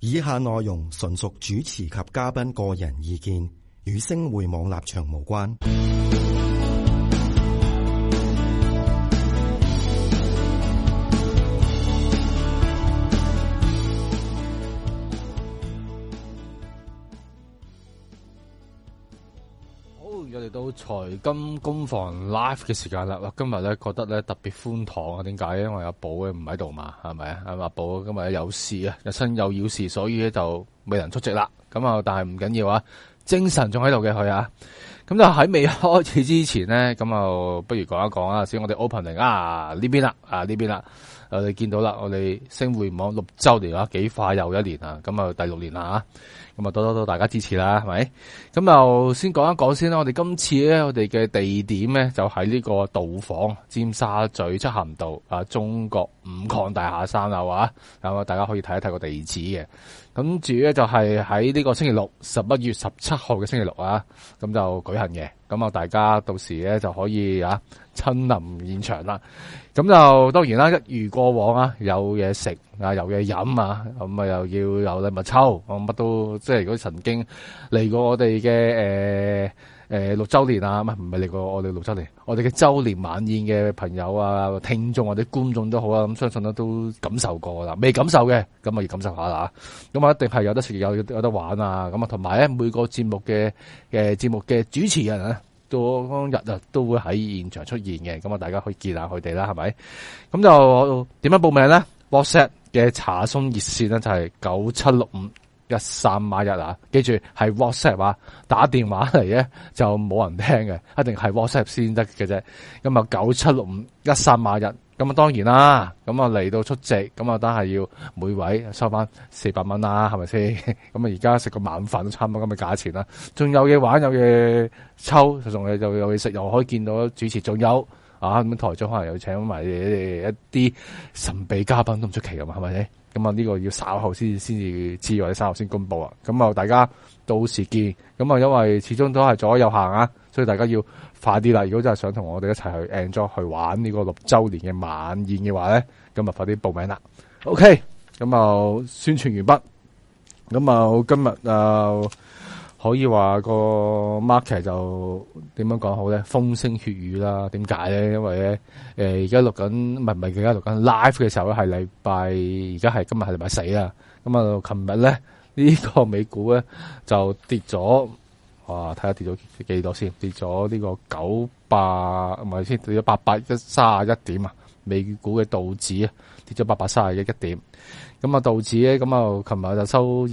以下內容純屬主持及嘉賓個人意見，與星匯網立場無關。 我哋到財金工房 live 嘅時間啦，今日咧覺得咧特別歡堂啊！點解？因為阿寶咧唔喺度嘛，係咪啊？阿寶今日有事啊，日新有要事，所以咧就未能出席啦。咁啊，但係唔緊要啊，精神仲喺度嘅佢啊。咁就喺未開始之前咧，咁啊，不如講一講啊，先我哋 opening 啊呢邊啦，呢邊啦，我哋見到啦，我哋星匯網6週年啊，幾快又一年啊，咁啊第6年啦咁啊多大家支持啦，係咪？咁就先講一講先啦。我哋今次咧，我哋嘅地點咧就喺呢個道房，尖沙咀漆咸道啊，中國五礦大廈3樓啊，咁啊大家可以睇一睇個地址嘅。咁至於咧就係喺呢個星期六11月17號嘅星期六啊，咁就舉行嘅。咁啊大家到時咧就可以啊親臨現場啦。咁就當然啦，一如過往啊，有嘢食啊，有嘢飲啊，咁啊又要有禮物抽，乜都即係如果曾經嚟過我哋嘅6週年啊，唔係嚟過我哋6週年，我哋嘅週年晚宴嘅朋友啊、聽眾或者觀眾都好啊，咁相信都感受過啦。未感受嘅，咁啊要感受下啦。咁啊一定係有得食有得玩啊。咁啊同埋咧每個節目嘅節目嘅主持人啊，當日啊都會喺現場出現嘅。咁啊大家可以見下佢哋啦，係咪？咁就點樣報名咧？ WhatsApp 嘅查詢熱線咧就係97651381啊，記住係 WhatsApp 啊，打電話嚟咧就冇人聽嘅，一定係 WhatsApp 先得嘅啫。咁啊97651381，咁啊當然啦，咁啊嚟到出席，咁啊都係要每位收翻400蚊啦，係咪先？咁啊而家食個晚飯都差唔多咁嘅價錢啦，仲有嘢玩，有嘢抽，仲有嘢食，又可以見到主持，仲有啊咁台長可能又請埋一啲神秘嘉賓都唔出奇㗎嘛，係咪先？咁啊呢個要稍後先至知，或者稍後先公布啊。咁啊大家到時見。咁啊因為始終都係左右行啊，所以大家要快啲啦。如果真係想同我哋一齊去 enjoy 去玩呢個6週年嘅晚宴嘅話咧，咁啊快啲報名啦。OK， 咁啊宣傳完畢。咁啊今日可以話個 market 就點樣講好咧？風聲血雨啦。點解咧？因為咧而家錄緊，唔係而家錄緊 live 嘅時候咧，係禮拜，而家係今日係禮拜4啊。咁啊，琴日咧呢個美股咧就跌咗，哇！睇下跌咗幾多先？跌咗呢個900，唔係先跌咗831點啊！美股嘅道指啊跌咗831點。咁啊道指咧，咁啊琴日就收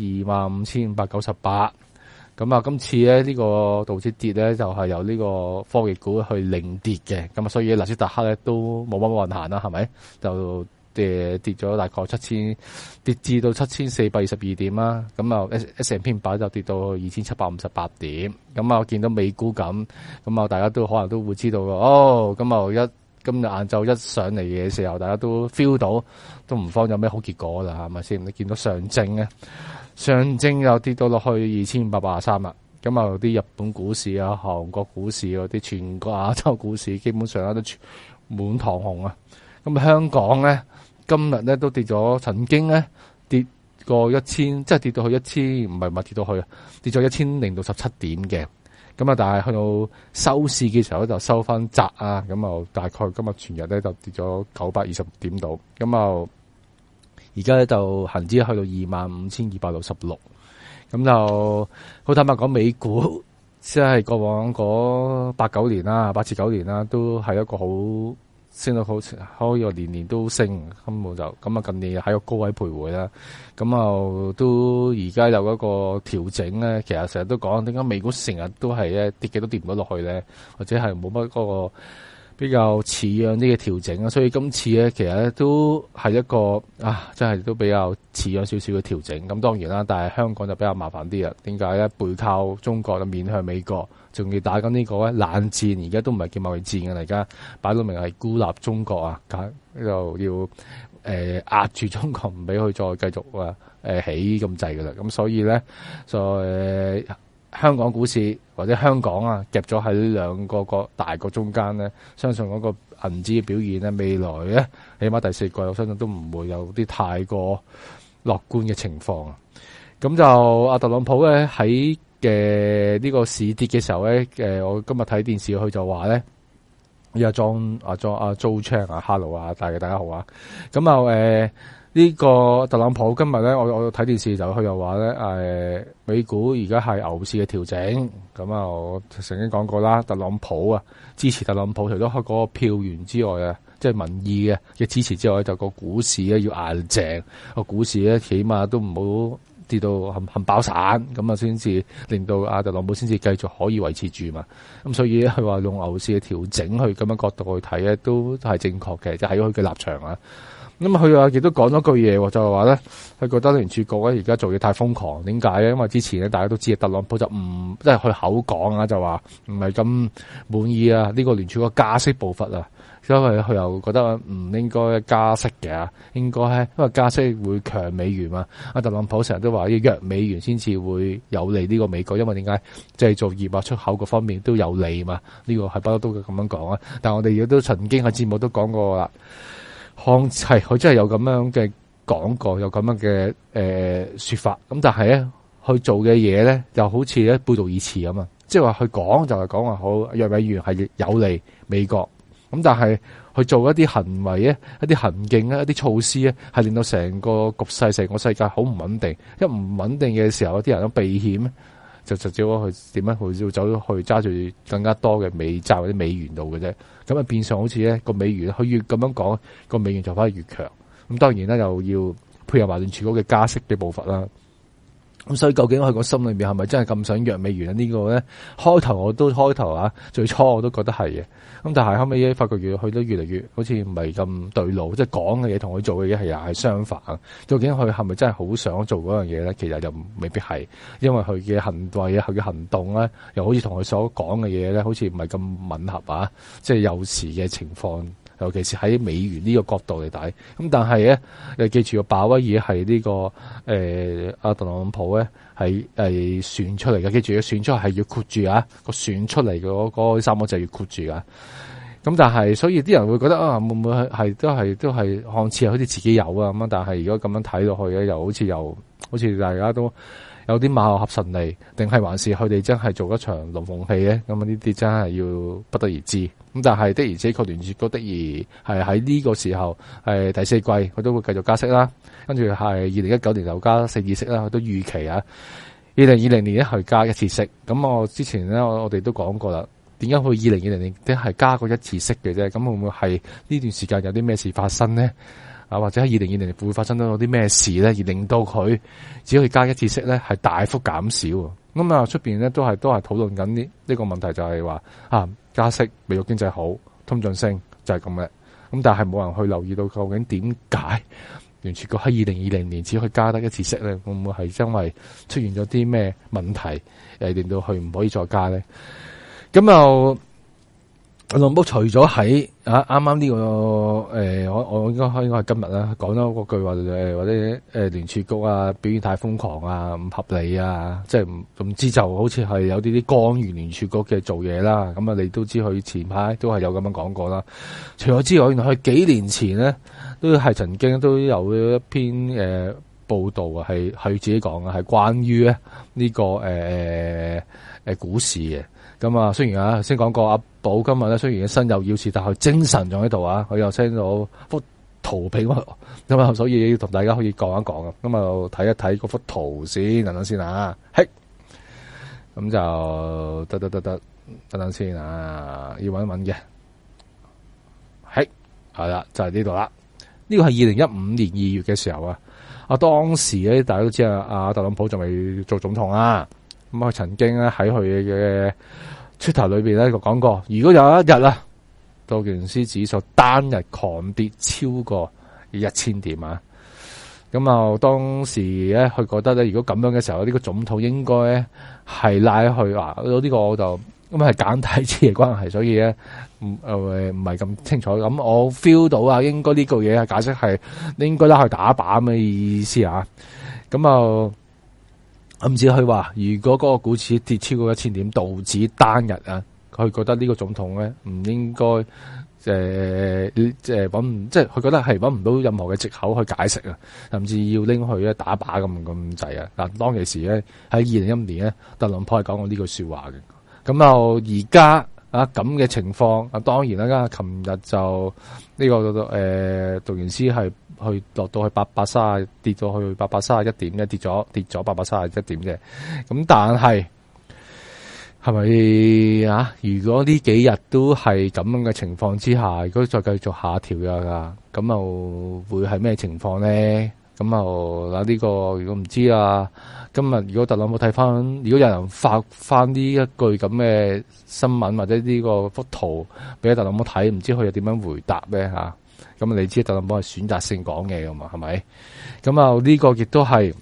25,598。咁啊，今次咧呢個道指跌咧，就係由呢個科技股去領跌嘅。咁啊，所以納斯達克咧都冇乜運行啦，係咪？就跌咗大概跌至到7422點啦。咁啊 S&P 500就跌到2758點。咁啊，我見到美股咁啊，大家都可能都會知道哦。咁啊今日晏晝一上嚟嘅時候，大家都 feel 到都唔方有咩好結果啦，係咪先？你見到上證又跌到落去2583啦。咁啊啲日本股市啊、韓國股市嗰啲全個亞洲股市基本上都滿堂紅啊。咁香港咧今日咧都跌咗，曾經咧跌過1000，即係跌到去1000，唔係跌到去跌咗1017點嘅。咁啊，但係去到收市嘅時候就收翻窄啊。咁啊，大概今日全日咧就跌咗926點度。咁啊，而家咧就恒指去到25,266。咁就好坦白講，美股即係過往嗰8、9年啦，8至9年啦，都係一個好升到好，可以話年年都升，根本就咁啊！近年喺個高位徘徊啦，咁啊都而家有一個調整咧。其實成日都講點解美股成日都係咧跌嘅都跌唔到落去咧，或者係冇乜嗰個比較似樣啲嘅調整啊。所以今次咧其實咧都係一個真係都比較似樣少少嘅調整。咁當然啦，但係香港就比較麻煩啲啦。點解咧？背靠中國就面向美國，仲要打緊呢個咧冷戰，而家都唔係叫貿易戰嘅，而家擺到明係孤立中國啊，就要壓住中國，唔俾佢再繼續起咁滯㗎啦。咁所以咧香港股市或者香港夾咗喺呢兩個大國中間咧，相信嗰個銀紙嘅表現咧，未來咧起碼第4季我相信都唔會有啲太過樂觀嘅情況啊。咁就阿特朗普咧喺呢個市跌嘅時候咧，我今日睇電視佢就話咧，阿 Joe Chang 啊 ，Hello 啊，大家好啊。咁啊呢個特朗普今日咧，我睇電視就佢又話咧，美股而家係牛市嘅調整。咁啊，我曾經講過啦，特朗普啊支持特朗普，除咗嗰個票源之外啊，即係民意嘅支持之外，就個股市咧要硬淨，個股市咧起碼都唔好跌到冚爆散，咁啊先至令到阿特朗普先至繼續可以維持住嘛。咁所以佢話用牛市嘅調整去咁樣角度去睇咧，都係正確嘅，就喺佢嘅立場啊。咁佢啊亦都講咗句嘢，就係話咧，佢覺得聯儲局咧而家做嘢太瘋狂，點解咧？因為之前咧大家都知特朗普就唔即係佢口講啊，就話唔係咁滿意啊呢個聯儲局加息步伐啊。因為佢又覺得唔應該加息嘅，應該因為加息會強美元嘛。阿特朗普成日都話要弱美元先至會有利呢個美國，因為點解製造業啊出口嗰方面都有利嘛。呢個係不嬲都咁樣講啊。但係我哋亦都曾經喺節目都講過啦，係佢真係有咁樣嘅講過，有咁樣嘅說法。咁但係咧，佢做嘅嘢咧，就好似咧背道而馳咁啊。即係話佢講就係講話好弱美元係有利美國。咁但係去做一啲行為咧，一啲行徑咧，一啲措施咧，係令到成個局勢、成個世界好唔穩定。一唔穩定嘅時候，啲人都避險，就只好去點樣去走咗去揸住更加多嘅美債或者美元度嘅啫。咁啊變相好似咧個美元，佢越咁樣講，個美元就反而越強。咁當然啦，又要配合埋聯儲局嘅加息嘅步伐啦。咁所以究竟佢個心裏面係咪真係咁想弱美元呢？呢個咧開頭啊，最初我都覺得係嘅。咁但係後尾發覺佢都越嚟越好似唔係咁對路，即係講嘅嘢同佢做嘅嘢係相反。究竟佢係咪真係好想做嗰樣嘢咧？其實就未必係，因為佢嘅行為啊，佢嘅行動咧，又好似同佢所講嘅嘢咧，好似唔係咁吻合啊！即係有時嘅情況。尤其是喺美元呢個角度嚟睇，咁但係咧，你記住個鮑威爾係呢個阿特朗普咧係選出嚟嘅，記住選出係要括住啊，個選出嚟嗰三個字要括住啊。咁但係，所以啲人會覺得啊，會唔會係都係看似好似自己有啊咁，但係如果咁樣睇落去咧，又好似大家都有啲馬後合神離，定係還是佢哋真係做一場龍鳳戲咧？咁啊呢啲真係要不得而知。咁但係的而且確聯儲局的而係喺呢個時候第四季佢都會繼續加息啦，跟住係2019年又加4次息啦，佢都預期啊2020年咧去加1次息。咁我之前咧我哋都講過啦，點解佢2020年都係加過1次息嘅啫？咁會唔會係呢段時間有啲咩事發生呢？啊，或者喺2020年會發生到啲咩事咧，而令到佢只可以加1次息咧，係大幅減少。咁啊，出邊咧都係討論緊呢個問題，就係話加息，美國經濟好，通脹升就係咁嘅。咁但係冇人去留意到究竟點解聯儲局喺2020年只可以加得1次息咧？會唔會係因為出現咗啲咩問題令到佢唔可以再加咧？咁又特朗普除咗喺啱啱呢個我應該係今日啦，講咗嗰句話或者聯儲局啊表現太瘋狂啊，唔合理啊，即係唔知就好似係有啲干預聯儲局嘅做嘢啦。咁啊，你都知佢前排都係有咁樣講過啦。除咗之外，原來佢幾年前咧都係曾經都有一篇報道啊，係佢自己講嘅，係關於咧呢個股市嘅。咁啊，雖然先講過阿寶今日咧，雖然身有要事，但係精神仲喺度啊！佢又 send 到幅圖俾我，咁啊，所以要同大家可以講一講啊。咁啊，睇一睇嗰幅圖先，等等先啊。嘿，咁就得，等等先啊，要搵一搵嘅。嘿，係啦，就係呢度啦。呢個係2015年2月嘅時候啊。當時咧，大家都知阿特朗普仲未做總統啊。咁佢曾經咧喺佢嘅Twitter裏邊咧講過，如果有一日啊，道瓊斯指數單日狂跌超過1000點啊，咁啊當時咧佢覺得咧，如果咁樣嘅時候，呢個總統應該咧係拉去呢個我就咁係簡體字嘅關係，所以咧唔係咁清楚。咁我 feel 到啊，應該呢句嘢解釋係應該拉去打靶咁嘅意思啊。咁啊。唔止佢話，如果嗰個股市跌超過1000點，道指單日啊，佢覺得呢個總統咧唔應該即係佢覺得係揾唔到任何嘅藉口去解釋啊，甚至要拎去咧打靶咁滯啊！嗱，當其時咧喺2015年咧，特朗普係講過呢句說話嘅。咁而家啊咁嘅情況啊，當然啦，琴日就呢個道瓊斯係去落到去830，跌到去831點咧，跌咗831點嘅。咁但係咪啊？如果呢幾日都係咁樣嘅情況之下，如果再繼續下調㗎，咁又會係咩情況咧？咁又呢個如果唔知啊，今日如果特朗普睇翻，如果有人發翻呢一句咁嘅新聞或者呢個幅圖俾特朗普睇，唔知佢又點樣回答咧吓？咁你知特朗普係選擇性講嘢噶嘛？係咪？咁呢個亦都係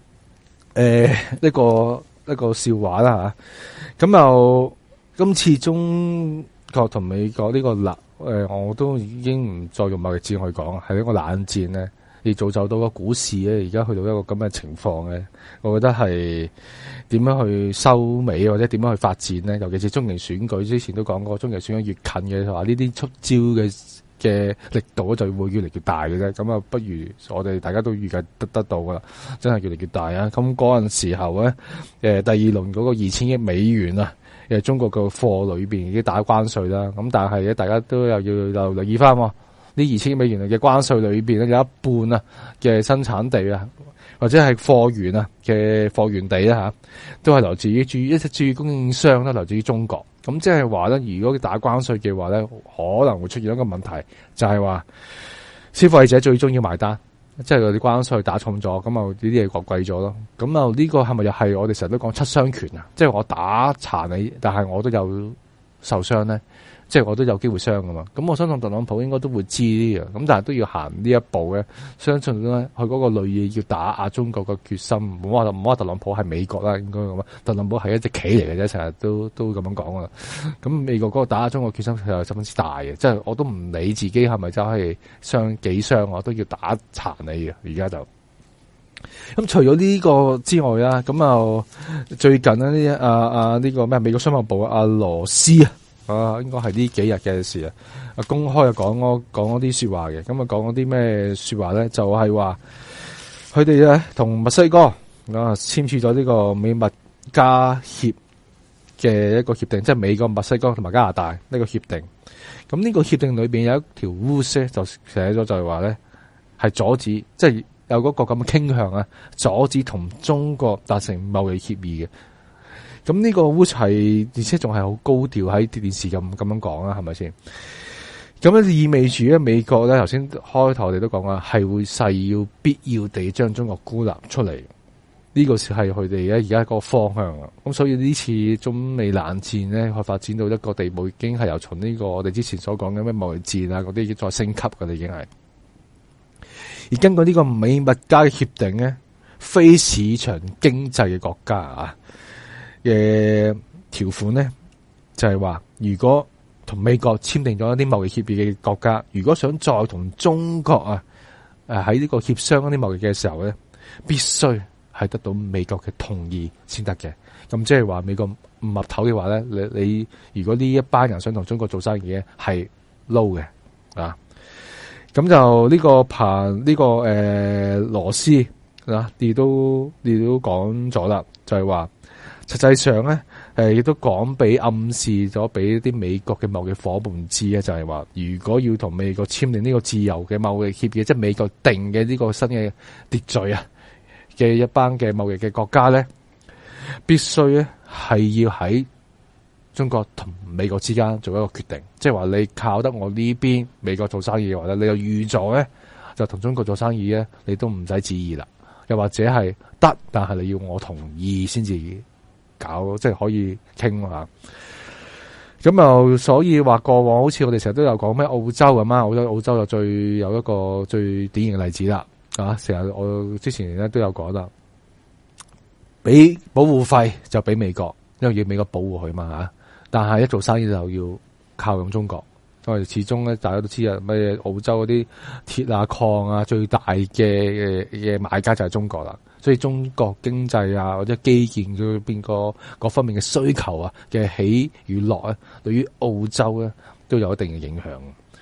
一個笑話啦吓。咁今次中國同美國呢個我都已經唔再用貿易戰去講，係一個冷戰咧，而造就到個股市咧，而家去到一個咁嘅情況咧，我覺得係點樣去收尾或者點樣去發展咧？尤其是中期選舉之前都講過，中期選舉越近嘅話，呢啲出招嘅力度就會越嚟越大嘅啫。咁不如我哋大家都預計得到噶啦，真係越嚟越大啊！咁嗰陣時候咧，第二輪嗰個2000億美元啊，中國嘅貨裏邊已經打關稅啦。咁但係咧，大家都又要留意翻呢2000億美元嘅關稅裏邊咧，有一半啊嘅生產地啊，或者係貨源啊嘅貨源地啦都係來自於主要供應商啦，來自於中國。咁即係話咧，如果打關稅嘅話咧，可能會出現一個問題，就係話消費者最終要埋單，即係嗰啲關稅打重咗，咁呢啲嘢貴咗咯。咁呢個係咪又係我哋成日都講七傷拳啊？即係我打殘你，但係我都有受傷咧。即係我都有機會傷噶嘛，咁我相信特朗普應該都會知呢樣，咁但係都要行呢一步嘅，相信咧佢嗰個類嘢要打壓中國嘅決心，唔好話特朗普係美國啦，應該咁啊，特朗普係一隻棋嚟嘅啫，成日都咁樣講噶啦。咁美國嗰個打壓中國決心係十分之大嘅，即係我都唔理自己係咪真係傷幾傷，我都要打殘你嘅。而家就咁除咗呢個之外啦，咁最近呢呢個咩美國商務部阿羅斯應該係呢幾日嘅事啊！公開講嗰啲說話嘅，咁講嗰啲咩說話咧？就係話佢哋咧同墨西哥簽署咗呢個美墨加協嘅一個協定，即係美國、墨西哥同埋加拿大呢個協定。咁呢個協定裏邊有一條 rules 就寫咗，就係話咧係阻止，即係有嗰個咁嘅傾向啊，阻止同中國達成貿易協議嘅。咁呢個烏齊，而且仲係好高調喺電視咁樣講啦，係咪先？咁意味住咧，美國咧頭先開頭我哋都講啦，係會誓要必要地將中國孤立出嚟。呢個係佢哋咧而家個方向啊。咁所以呢次中美冷戰咧，佢發展到一個地步，已經係由從呢個我哋之前所講嘅咩貿易戰啊嗰啲，已經再升級噶啦，已經係。而根據呢個美墨加嘅協定咧，非市場經濟嘅國家啊嘅條款咧，就係話如果同美國簽訂咗一啲貿易協議嘅國家，如果想再同中國喺呢個協商一啲貿易嘅時候咧，必須係得到美國嘅同意先得嘅。咁即係話美國唔岌頭嘅話咧，你如果呢一班人想同中國做生意嘅係撈嘅啊。咁就呢個羅斯亦都講咗啦，就係話。實際上咧，亦都講俾暗示咗俾啲美國嘅貿易夥伴知咧，就係話，如果要同美國簽訂呢個自由嘅貿易協議，即係美國定嘅呢個新嘅秩序啊嘅一班嘅貿易嘅國家咧，必須咧係要喺中國同美國之間做一個決定，即係話你靠得我呢邊美國做生意嘅話咧，你就預咗咧就同中國做生意咧，你都唔使旨意啦，又或者係得，但係你要我同意先至搞，即係可以傾啊。咁所以話過往好似我哋成日都有講咩澳洲咁啊，澳洲就有一個最典型嘅例子啦。成日我之前咧都有講啦，俾保護費就俾美國，因為要美國保護佢嘛吓。但係一做生意就要靠用中國，因為始終咧大家都知啊，咩澳洲嗰啲鐵啊礦啊最大嘅買家就係中國啦。所以中國經濟啊或者基建嗰邊各方面嘅需求啊嘅起與落對於澳洲咧都有一定嘅影響。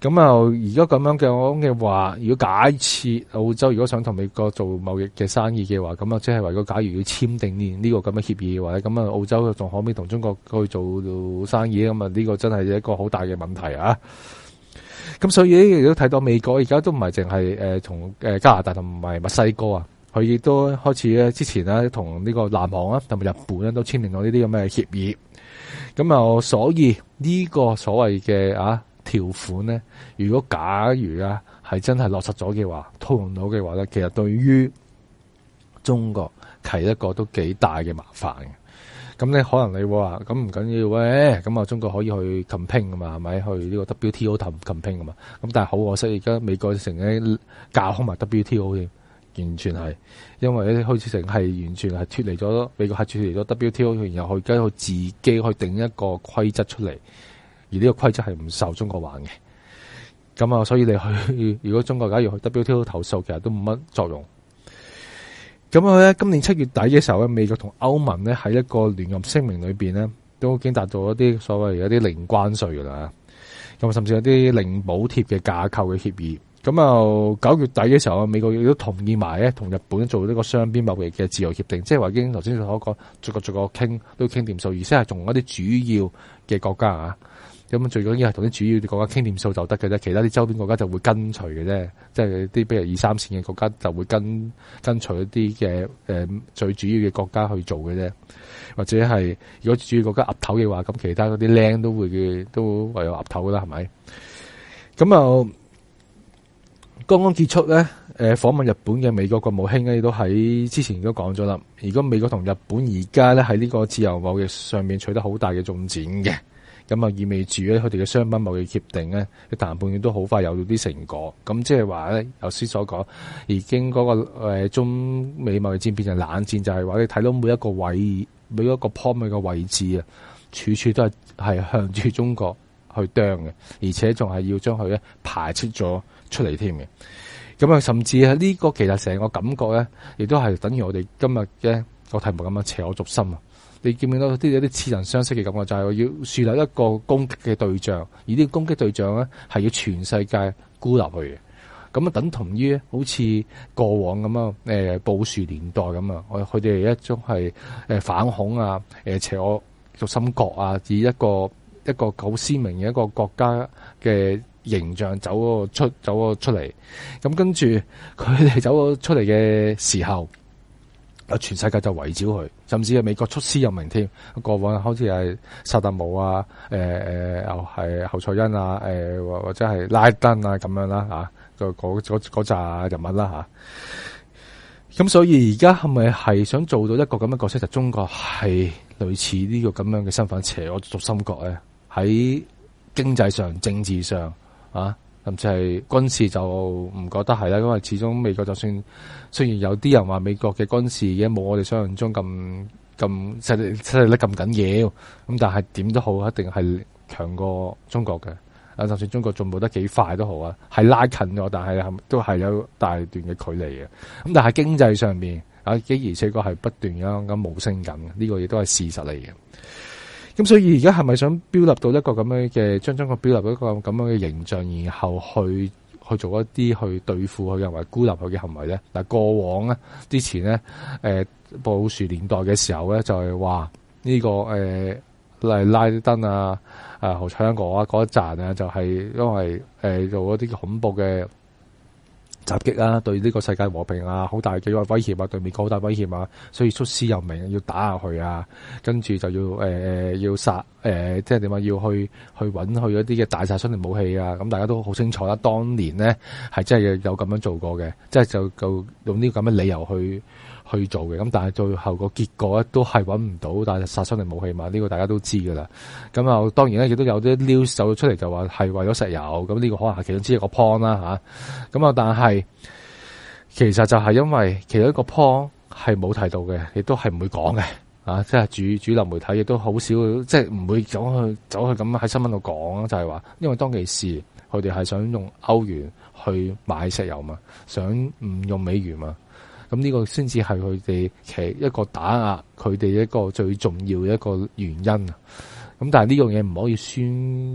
咁啊，而家咁樣嘅話，如果假設澳洲如果想同美國做貿易嘅生意嘅話，咁啊，即係話如果假如要簽訂呢個咁嘅協議嘅話咧，咁啊，澳洲仲可唔可以同中國去做生意咧？咁啊，呢個真係一個好大嘅問題啊！咁所以亦都睇到美國而家都唔係淨係同加拿大同埋墨西哥啊，佢亦都開始咧之前咧同呢個南韓啊同埋日本咧都簽訂咗呢啲咁嘅協議。咁啊，所以呢個所謂嘅條款咧，如果假如係真係落實咗嘅話，套用到嘅話咧，其實對於中國係一個都幾大嘅麻煩嘅。咁你可能你會話咁唔緊要喂，咁啊中國可以去 campaign 噶嘛，係咪去呢個 WTO campaign 噶嘛？咁但係好可惜，而家美國成日架空埋 WTO 添，完全係因為咧開始成係完全係脫離咗美國係脫離咗 WTO， 然後佢而家佢自己去定一個規則出嚟。而呢個規則係唔受中國玩嘅，咁啊，所以你去如果中國假如去 WTO 投訴，其實都冇乜作用。咁啊咧，今年7月底嘅時候咧，美國同歐盟咧喺一個聯合聲明裏邊咧，都已經達到一啲所謂一啲零關稅噶啦，咁甚至有啲零補貼嘅架構嘅協議。咁啊9月底嘅時候，美國亦都同意埋咧同日本做呢個雙邊貿易嘅自由協定，即係話已經頭先所講逐個傾都傾掂數，而且係同一啲主要嘅國家啊。咁最緊要係同啲主要嘅國家傾掂數就得嘅啫，其他啲周邊國家就會跟隨嘅啫，即係啲比如2、3線嘅國家就會跟隨一啲嘅最主要嘅國家去做嘅啫，或者係如果主要國家岌頭嘅話，咁其他嗰啲靚都唯有岌頭啦，係咪？咁啊，剛剛結束咧，訪問日本嘅美國國務卿咧，都喺之前都講咗啦。如果美國同日本而家咧喺呢個自由貿易上面取得好大嘅進展嘅。咁啊，意味住咧，佢哋嘅商品貿易協定咧，嘅談判都好快有到啲成果。咁即係話咧，頭先所講，已經嗰個中美貿易戰變成冷戰，就係話你睇到每一個位、每一個 point 嘅位置啊，處處都係向住中國去啄嘅，而且仲係要將佢咧排斥咗出嚟添嘅。咁啊，甚至係呢個其實成個感覺咧，亦都係等於我哋今日嘅個題目咁樣邪我軸心啊！你見唔見到有啲似曾相識嘅感覺，就係要樹立一個攻擊嘅對象，而呢個攻擊對象咧係要全世界孤立佢嘅。咁啊，等同於好似過往咁啊，布殊年代咁啊，佢哋一種係反恐啊，邪我軸心國啊，以一個好鮮明嘅一個國家嘅形象走咗出嚟。咁跟住佢哋走咗出嚟嘅時候，全世界就圍剿佢，甚至係美國出師有名添。過往好似係薩達姆啊，又係侯賽因啊，或者係拉登啊咁樣啦嚇，嗰扎人物啦嚇。咁所以而家係咪係想做到一個咁嘅角色，就中國係類似呢個咁樣嘅身份，邪我軸心國咧？喺經濟上、政治上甚至係軍事就唔覺得係啦，因為始終美國就算雖然有啲人話美國嘅軍事已經冇我哋想象中咁實力咁緊要，咁但係點都好，一定係強過中國嘅。就算中國進步得幾快都好啊，係拉近咗，但係都係有大段嘅距離嘅。咁但係經濟上面而且確係不斷咁冒升緊，呢個亦都係事實嚟嘅。咁所以而家係咪想標立到一個咁樣嘅，將中國標立到一個咁樣嘅形象，然後去做一啲去對付佢嘅行為、孤立佢嘅行為咧？嗱，過往咧之前咧，布殊年代嘅時候咧，就係話呢個例如拉登啊、侯賽因嗰一站啊，就係因為做一啲恐怖嘅襲擊啊，對呢個世界和平啊，好大嘅威脅啊，對美國好大威脅啊，所以出師有名，要打下去啊，跟住就要殺即係點啊，要去揾去一啲嘅大殺傷力武器啊，咁大家都好清楚啦。當年咧係真係有咁樣做過嘅，即係就用呢個咁嘅理由去做嘅，咁但係最後個結果咧都係揾唔到大殺傷力武器嘛，呢個大家都知噶啦。咁啊，當然咧亦都有啲 news 走出嚟就話係為咗石油，咁呢個可能係其中之一個 point 啦吓。咁啊，但係其實就係因為其中一個 point 係冇提到嘅，亦都係唔會講嘅即係主流媒體亦都好少，即係唔會走去咁喺新聞度講，就係話因為當其時佢哋係想用歐元去買石油嘛，想唔用美元嘛。咁呢個先至係佢哋其一個打壓佢哋一個最重要嘅一個原因啊！咁但係呢樣嘢唔可以宣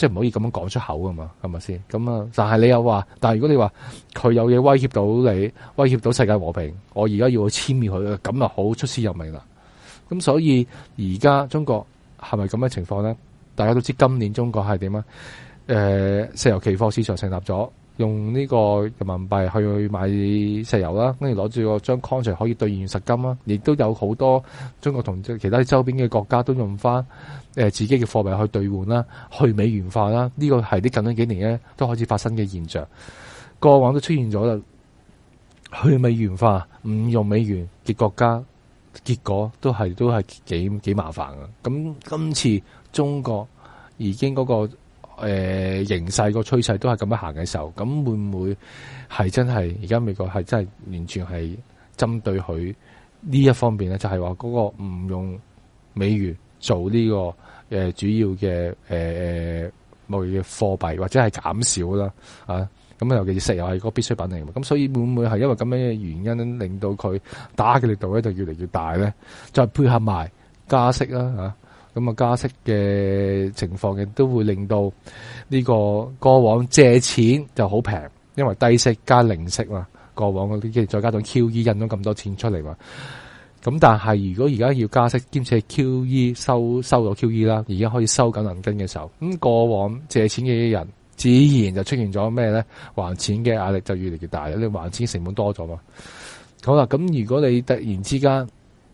即係唔可以咁樣講出口噶嘛，係咪先？咁啊，但係你又話，但係如果你話佢有嘢威脅到你，威脅到世界和平，我而家要去殲滅佢，咁就好出師有名啦。咁所以而家中國係咪咁嘅情況咧？大家都知今年中國係點啊？石油期貨市場成立咗，用呢個人民幣去買石油啦，跟住攞住個張 contract 可以兌現實金啦，亦都有好多中國同其他周邊嘅國家都用翻自己嘅貨幣去兌換啦，去美元化啦。呢個係啲近呢幾年咧都開始發生嘅現象，過往都出現咗啦。去美元化，唔用美元嘅國家，結果都係幾麻煩㗎。咁今次中國已經嗰個形勢個趨勢都係咁樣行嘅時候，咁會唔會係真係而家美國係真係完全係針對佢呢一方面咧？就係話嗰個唔用美元做呢個主要嘅貿易嘅貨幣，或者係減少啦啊！咁尤其是石油係個必需品嚟嘅，咁所以會唔會係因為咁樣嘅原因令到佢打嘅力度咧就越嚟越大咧？再配合埋加息啦嚇。咁啊，加息嘅情況亦都會令到呢個過往借錢就好平，因為低息加零息嘛。過往嗰啲，再加上 QE 印咗咁多錢出嚟嘛。咁但係如果而家要加息，兼且 QE 收咗 QE 啦，而家可以收緊銀根嘅時候，咁過往借錢嘅人自然就出現咗咩咧？還錢嘅壓力就越嚟越大，你還錢成本多咗嘛。好啦，咁如果你突然之間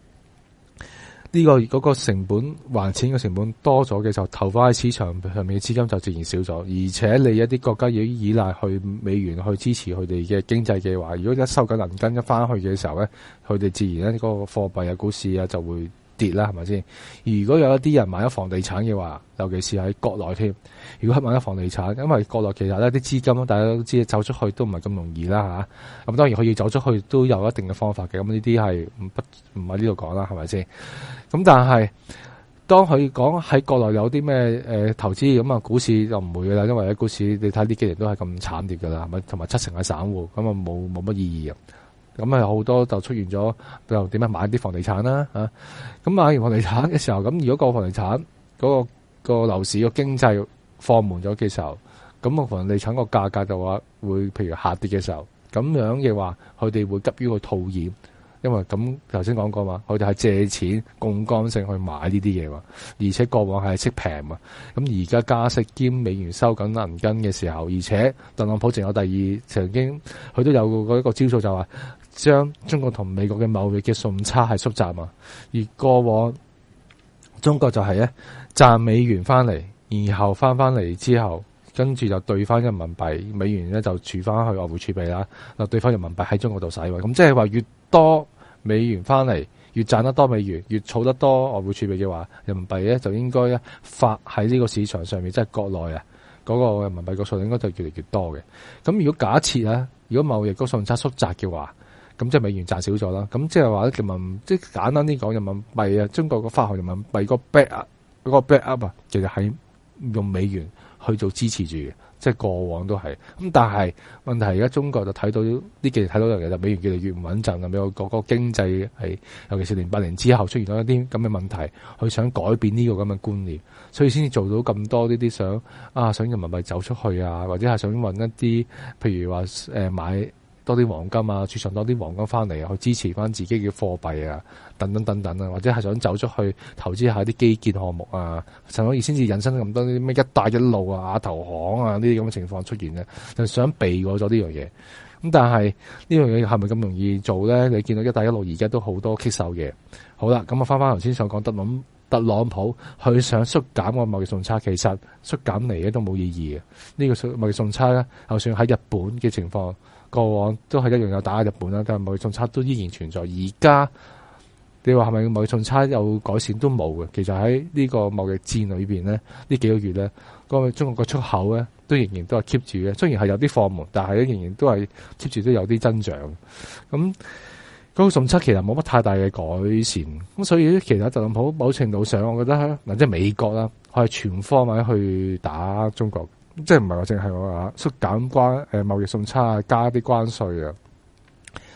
嗰個成本還錢嘅成本多咗嘅時候，投放喺市場上面嘅資金就自然少咗，而且你一啲國家要依賴去美元去支持佢哋嘅經濟嘅話，如果一收緊銀根一翻去嘅時候咧，佢哋自然咧嗰個貨幣啊、股市啊就會跌啦，係咪先？如果有一啲人買咗房地產嘅話，尤其是喺國內添，如果係買咗房地產，因為國內其實咧啲資金，大家都知走出去都唔係咁容易啦嚇。咁當然佢要走出去都有一定嘅方法嘅，咁呢啲係唔喺呢度講啦，係咪先？咁但係當佢講喺國內有啲咩投資咁啊，股市就唔會噶啦，因為喺股市你睇呢幾年都係咁慘跌噶啦，係咪？同埋70%係散戶，咁啊冇乜意義啊。咁啊好多就出現咗，又點樣買啲房地產啦嚇。咁買完房地產嘅時候，咁如果個房地產嗰個樓市個經濟放緩咗嘅時候，咁個房地產個價格就話會譬如下跌嘅時候，咁樣嘅話，佢哋會急於去套現。因為咁頭先講過嘛，佢哋係借錢槓桿性去買呢啲嘢嘛，而且過往係息平嘛，咁而家加息兼美元收緊銀根嘅時候，而且特朗普仲有曾經佢都有嗰一個招數，就話將中國同美國嘅貿易嘅順差係縮窄嘛，而過往中國就係咧賺美元翻嚟，然後翻嚟之後，跟住就兌翻人民幣，美元咧就儲翻去外匯儲備啦，就兌翻人民幣喺中國度使喎，咁即係話越多美元翻嚟，越賺得多美元，越儲得多外匯儲備嘅話，人民幣咧就應該咧發喺呢個市場上面，即係國內啊嗰個人民幣個數應該就越嚟越多嘅。咁如果假設啊，如果貿易個順差縮窄嘅話，咁即係美元賺少咗啦。咁即係話咧，即係簡單啲講，人民幣啊，中國個發行人民幣個 back up 啊，其實係用美元去做支持住嘅。即係過往都係，咁但係問題而家中國就睇到呢幾年睇到樣嘢，就美元越嚟越唔穩陣啦。美國個經濟係，尤其是08年之後出現咗一啲咁嘅問題，佢想改變呢個咁嘅觀念，所以先至做到咁多呢啲想人民幣走出去啊，或者係想揾一啲譬如話買多啲黃金啊，儲藏多啲黃金翻嚟啊，去支持翻自己嘅貨幣啊，等等啊，或者係想走出去投資下啲基建項目啊，所以先至引申咁多啲咩一帶一路啊、亞投行啊呢啲咁嘅情況出現咧，就想避過咗呢樣嘢。咁但係呢樣嘢係咪咁容易做咧？你見到一帶一路而家都好多棘手嘅。好啦，咁啊翻頭先想講特朗普佢想縮減個貿易順差，其實縮減嚟嘅都冇意義嘅。呢個貿易順差咧，就算喺日本嘅情況，過往都係一樣有打日本啦，但係貿易順差都依然存在。而家你話係咪貿易順差有改善都冇嘅？其實喺呢個貿易戰裏邊咧，呢幾個月咧，中國個出口咧都仍然都係 keep 住嘅。雖然係有啲放緩，但係咧仍然都係 keep 住都有啲增長。咁嗰個順差其實冇乜太大嘅改善。咁所以其實特朗普某程度上，我覺得嗱，即係美國啦，佢係全方位去打中國。即係唔係話淨係我話縮減貿易順差啊，加啲關稅啊，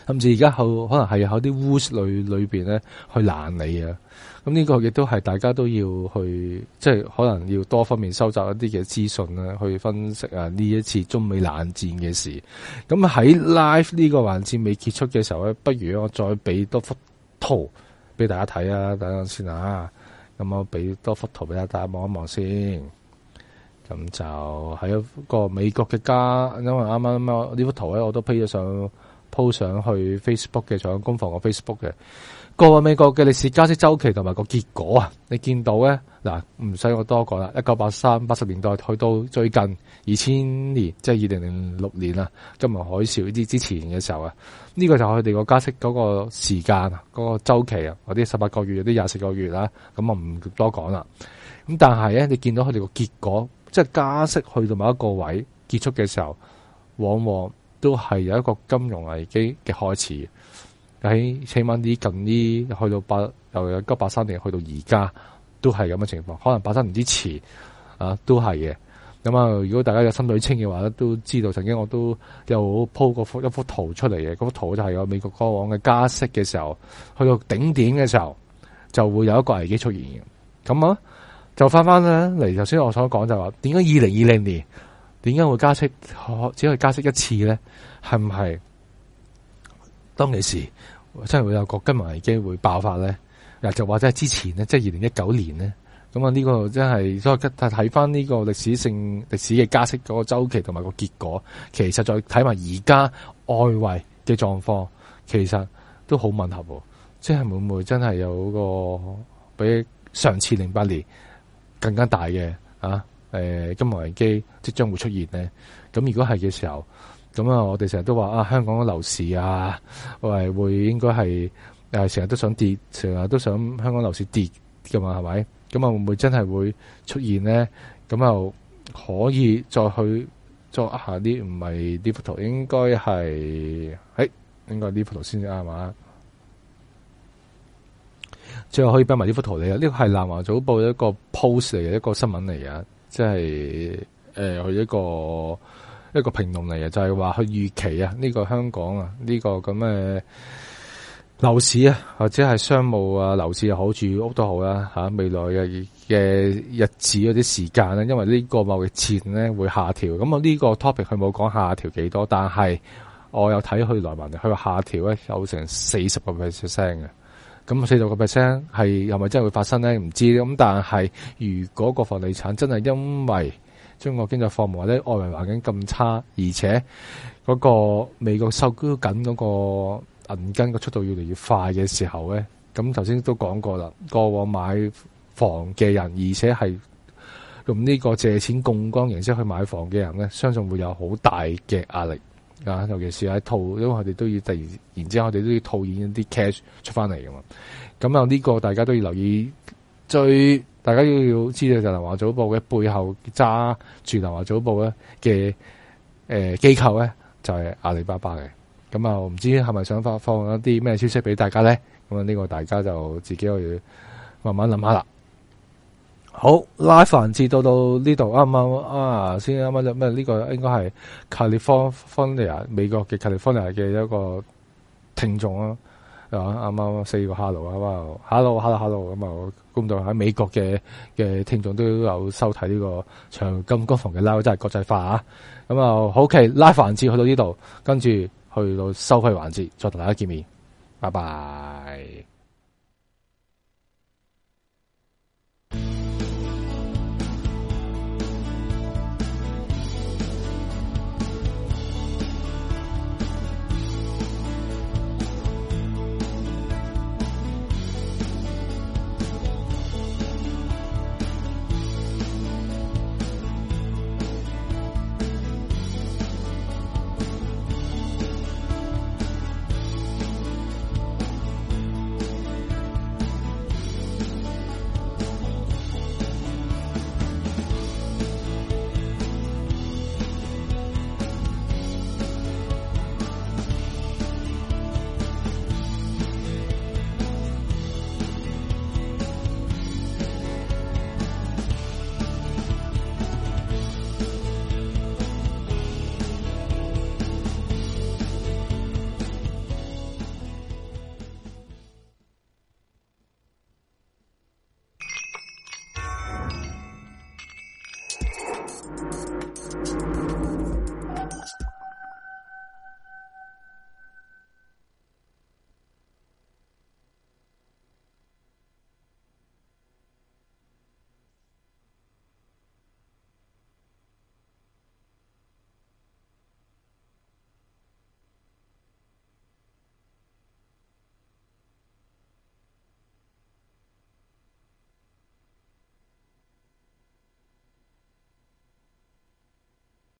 甚至而家可能係喺啲污裏邊咧去攔你啊！咁呢個亦都係大家都要去，即係可能要多方面收集一啲嘅資訊啦，去分析啊呢一次中美冷戰嘅事。咁喺 live 呢個環節未結束嘅時候咧，不如我再俾多幅圖俾大家睇啊！等陣先啊，咁我俾多幅圖俾大家望一望先。咁就係一個美國嘅家，因為啱啱呢幅圖咧，我都 po 上去 Facebook 嘅，仲有攻防個 Facebook 嘅。過往美國嘅歷史加息周期同埋個結果啊，你見到咧嗱，唔使我多講啦。1983、80年代去到最近2000年，即係2006年啊，金融海嘯呢啲之前嘅時候啊，呢個就係佢哋個加息嗰個時間啊，嗰個周期啊，嗰啲18個月，有啲24個月啦，咁我唔多講啦。咁但係咧，你見到佢哋個結果，即係加息去到某一個位結束嘅時候，往往都係有一個金融危機嘅開始。喺起碼啲近呢去到由1983年去到而家都係咁嘅情況，可能83年之前啊都係嘅。咁啊，如果大家有心水清嘅話咧，都知道曾經我都有鋪過一幅圖出嚟嘅，嗰幅圖就係有美國過往嘅加息嘅時候，去到頂點嘅時候就會有一個危機出現嘅。咁啊，就翻咧嚟頭先我所講就話，點解2020年點解會加息？只可以加息一次咧？係唔係當其時真係會有個金融危機會爆發咧？就或者係之前咧，即係2019年咧？咁啊，呢個真係所以睇翻呢個歷史嘅加息嗰個周期同埋個結果，其實再睇埋而家外圍嘅狀況，其實都好吻合。即係會唔會真係有個比上次08年更加大嘅金融危機即將會出現呢？咁如果係嘅時候，咁啊，我哋成日都話香港嘅樓市啊，會應該係成日都想跌，成日都想香港樓市跌噶嘛，係咪？咁啊，會唔會真係會出現呢？咁又可以再去作一下啲，唔係呢幅圖，應該係應該呢幅圖先至啱嘛？最後可以俾埋呢幅圖嚟啊！呢個係南華早報一個 post 嚟嘅，一個新聞嚟嘅，即係佢一個評論嚟嘅，就係話佢預期啊，呢個香港啊，呢個咁嘅樓市啊，或者係商務啊，樓市又好，住屋都好啦未來嘅日子嗰啲時間咧，因為呢個貿易戰咧會下調，咁我呢個 topic 佢冇講下調幾多，但係我有睇佢來文，佢話下調咧有成40%嘅。咁40%係咪真係會發生咧？唔知咁，但係如果個房地產真係因為中國經濟放緩或者外圍環境咁差，而且嗰個美國收緊嗰個銀根嘅速度越嚟越快嘅時候咧，咁頭先都講過啦，過往買房嘅人，而且係用呢個借錢槓桿形式去買房嘅人咧，相信會有好大嘅壓力。尤其是喺套，因為我哋都要突然之間，我哋都要套現一啲 cash 出翻嚟噶嘛。咁啊，呢個大家都要留意。大家要知道就係南華早報嘅背後揸住南華早報咧嘅機構咧，就係阿里巴巴嘅。咁啊，唔知係咪想放一啲咩消息俾大家咧？咁啊，呢個大家就自己去慢慢諗下啦。好，live 環節到呢度啱唔啱先啱啱咩？呢個應該係 California 美國嘅 California 嘅一個聽眾啊，啱啱4個 hello 咁啊，估唔到喺美國嘅聽眾都有收睇呢個長金攻防嘅 live，真係國際化啊！咁啊，好嘅，live 環節去到呢度，跟住去到收費環節，再同大家見面，拜拜。